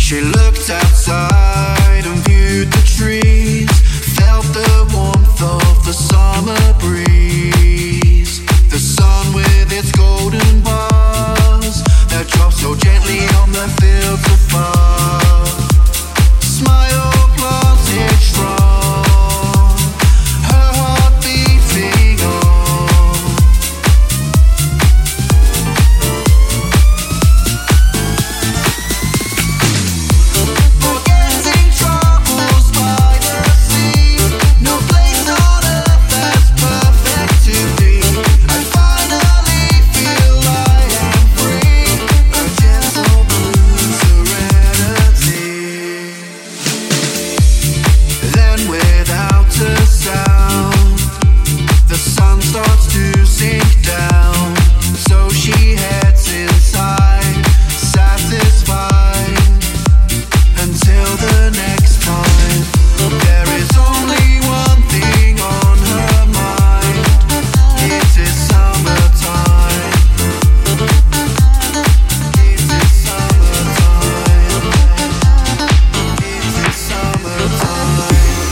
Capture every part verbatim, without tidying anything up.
She looked outside and viewed the trees, felt the warmth of the summer breeze. The sun with its golden bars that dropped so gently on the fields above. Smile planted strong, her heart beating on. Forgetting troubles by the sea, no place on earth that's perfect to be. I finally feel I am free, a gentle blue serenity. Then without a sound, the sun starts to sink down. So she heads inside, satisfied, until the next time. There is only one thing on her mind. It is summertime. It is summertime. It is summertime.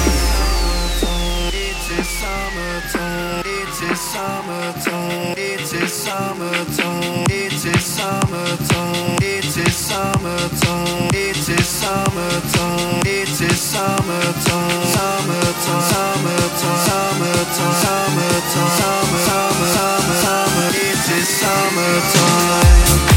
It is summertime. It is summertime. It is summertime. It is summertime. It is summertime. It is summertime. It is summertime. Summertime. Summertime. Summertime. Summertime. Summer. Summer. Summer. Summer. It is summertime.